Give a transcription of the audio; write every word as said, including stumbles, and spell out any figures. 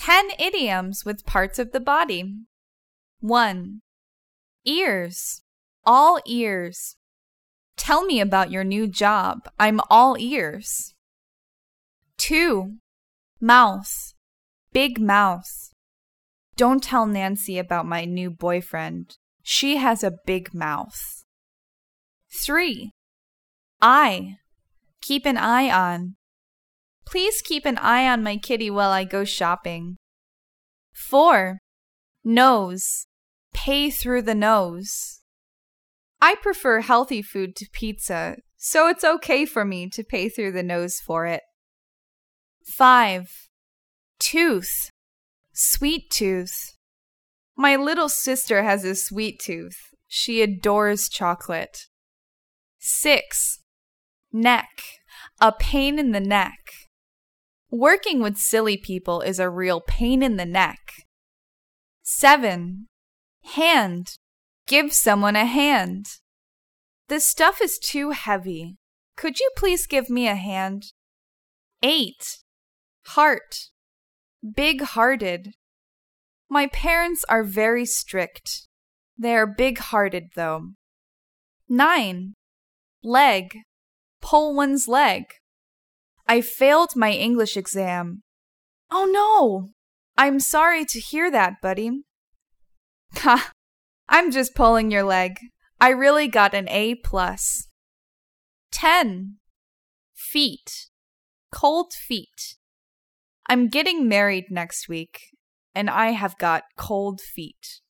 ten idioms with parts of the body. one. Ears. All ears. Tell me about your new job. I'm all ears. two. Mouth. Big mouth. Don't tell Nancy about my new boyfriend. She has a big mouth. three. Eye. Keep an eye on. Please keep an eye on my kitty while I go shopping. four. Nose. Pay through the nose. I prefer healthy food to pizza, so it's okay for me to pay through the nose for it. five. Tooth. Sweet tooth. My little sister has a sweet tooth. She adores chocolate. six. Neck. A pain in the neck. Working with silly people is a real pain in the neck. seven. Hand. Give someone a hand. This stuff is too heavy. Could you please give me a hand? eight. Heart. Big-hearted. My parents are very strict. They are big-hearted, though. nine. Leg. Pull one's leg. I failed my English exam. Oh no! I'm sorry to hear that, buddy. Ha! I'm just pulling your leg. I really got an A plus. ten. Feet. Cold feet. I'm getting married next week, and I have got cold feet.